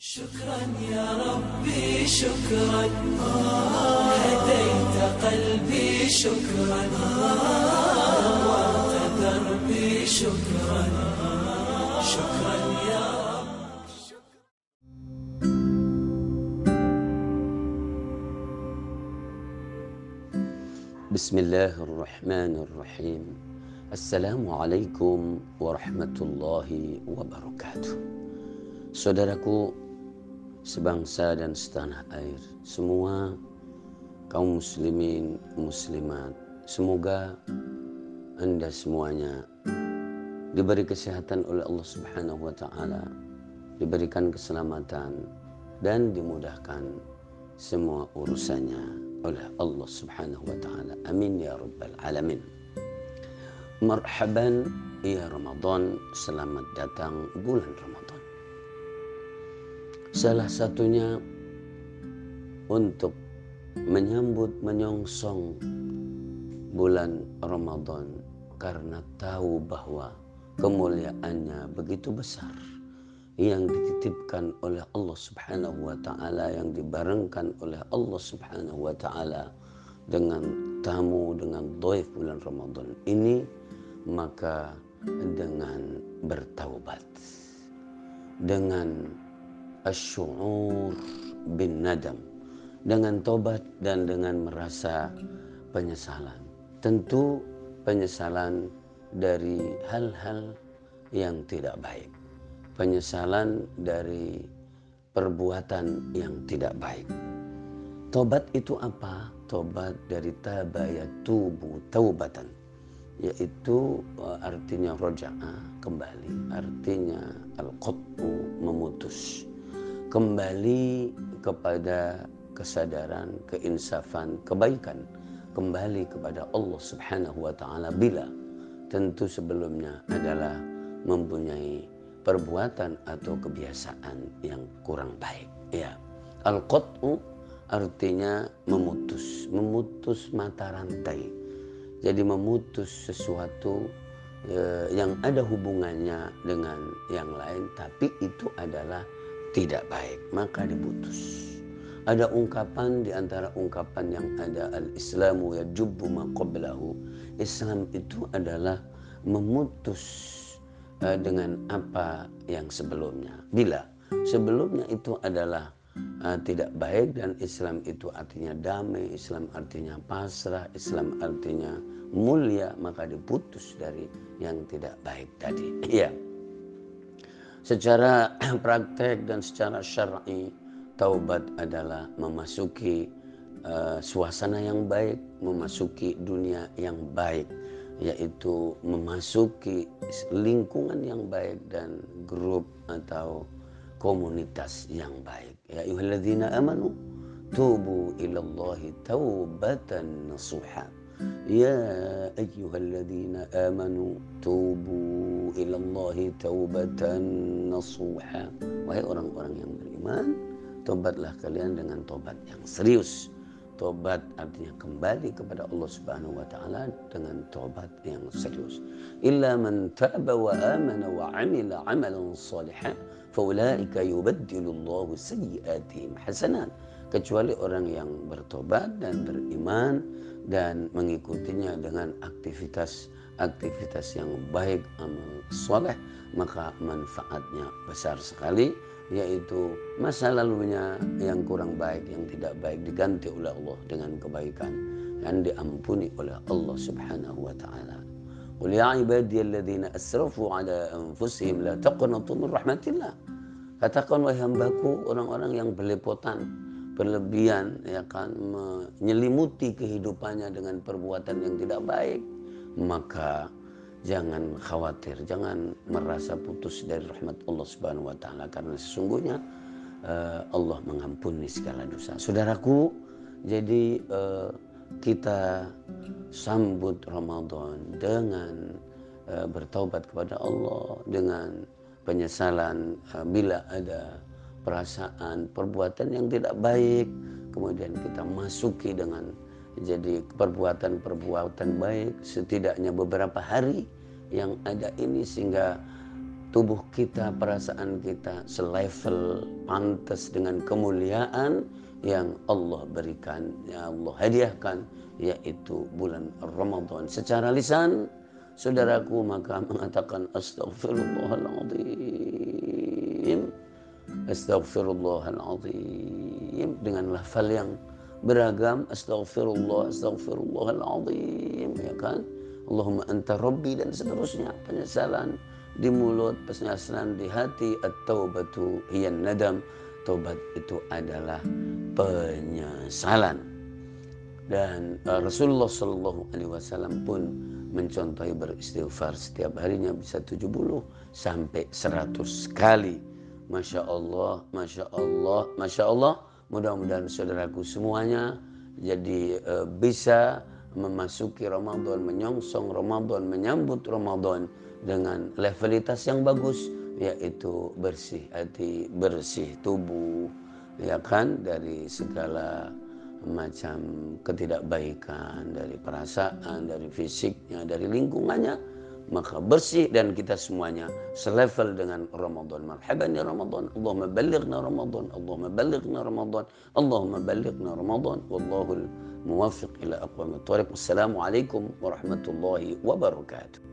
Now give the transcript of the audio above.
شكرا يا ربي شكرا هديت قلبي شكرا نورت دربي شكرا شكرا يا رب. بسم الله الرحمن الرحيم. Assalamualaikum warahmatullahi wabarakatuh. Saudaraku sebangsa dan setanah air, semua kaum muslimin muslimat, semoga Anda semuanya diberi kesehatan oleh Allah Subhanahu wa taala, diberikan keselamatan dan dimudahkan semua urusannya oleh Allah Subhanahu wa taala. Amin ya rabbal alamin. Marhaban ya Ramadan, selamat datang bulan Ramadan. Salah satunya untuk menyambut menyongsong bulan Ramadan karena tahu bahwa kemuliaannya begitu besar yang dititipkan oleh Allah Subhanahu wa taala, yang dibarengkan oleh Allah Subhanahu wa taala dengan tamu, dengan dhaif bulan Ramadan ini, maka dengan bertaubat, dengan asy'ur bin nadam, dengan tobat dan dengan merasa penyesalan. Tentu penyesalan dari hal-hal yang tidak baik, penyesalan dari perbuatan yang tidak baik. Tobat itu apa? Tobat dari taba yatubu taubatan, yaitu artinya roja'a, kembali, artinya al-qat'u, memutus, kembali kepada kesadaran, keinsafan, kebaikan, kembali kepada Allah Subhanahu wa taala bila tentu sebelumnya adalah mempunyai perbuatan atau kebiasaan yang kurang baik. Ya, al-qat'u artinya memutus, memutus mata rantai. Jadi memutus sesuatu yang ada hubungannya dengan yang lain, tapi itu adalah tidak baik, maka diputus. Ada ungkapan di antara ungkapan yang ada, al-islamu yajubbu ma qablahu. Islam itu adalah memutus dengan apa yang sebelumnya. Bila sebelumnya itu adalah tidak baik, dan Islam itu artinya damai, Islam artinya pasrah, Islam artinya mulia, maka diputus dari yang tidak baik tadi. Ya. Secara praktek dan secara syar'i, taubat adalah memasuki suasana yang baik, memasuki dunia yang baik, yaitu memasuki lingkungan yang baik dan grup atau komunitas yang baik. Ya ayyuhalladzina amanu tubu ilallahi taubatan nasuha. Ya ayyuhalladzina amanu tubu ilallahi taubatan nasuha. Wahai orang-orang yang beriman, tobatlah kalian dengan tobat yang serius. Tobat artinya kembali kepada Allah Subhanahu wa taala dengan tobat yang serius. Illa man taba wa amana wa amila amalan salihan faulaika yubaddilullahu sayyi'atihim hasanat. Kecuali orang yang bertobat dan beriman dan mengikutinya dengan aktivitas yang baik, amal soleh, maka manfaatnya besar sekali, yaitu masa lalunya yang kurang baik, yang tidak baik, diganti oleh Allah dengan kebaikan dan diampuni oleh Allah Subhanahu wa taala. Qul ya ibadiyalladzina asrafu ala anfusihim la taqnatu min rahmatillah. Katakan wahai hambaku, orang-orang yang belepotan, berlebihan, ya kan, menyelimuti kehidupannya dengan perbuatan yang tidak baik, maka jangan khawatir, jangan merasa putus dari rahmat Allah Subhanahu wa taala, karena sesungguhnya Allah mengampuni segala dosa. Saudaraku, jadi kita sambut Ramadan dengan bertaubat kepada Allah, dengan penyesalan bila ada perasaan perbuatan yang tidak baik, kemudian kita masuki dengan jadi perbuatan-perbuatan baik setidaknya beberapa hari yang ada ini, sehingga tubuh kita, perasaan kita selevel pantas dengan kemuliaan yang Allah berikan, yang Allah hadiahkan, yaitu bulan Ramadan. Secara lisan, saudaraku maka mengatakan astaghfirullahaladzim, astaghfirullahaladzim, dengan lafal yang beragam, astaghfirullahaladzim, ya kan, Allahumma anta rabbi, dan seterusnya. Penyesalan di mulut, penyesalan di hati. At-taubatu hiyan nadam, taubat itu adalah penyesalan. Dan Rasulullah Shallallahu Alaihi Wasallam pun mencontohi beristighfar setiap harinya bisa 70 sampai 100 kali. Masya Allah, Masya Allah, Masya Allah. Mudah-mudahan saudaraku semuanya jadi bisa memasuki Ramadan, menyongsong Ramadan, menyambut Ramadan dengan levelitas yang bagus, yaitu bersih hati, bersih tubuh, ya kan, dari segala macam ketidakbaikan, dari perasaan, dari fisiknya, dari lingkungannya, maka bersih, dan kita semuanya selevel dengan Ramadan. Marhaban ya Ramadan, Allahumma ballighna Ramadan, Allahumma ballighna Ramadan, Allahumma ballighna Ramadan, wallahul muwaffiq ila aqwamit thoriq. Wassalamualaikum warahmatullahi wabarakatuh.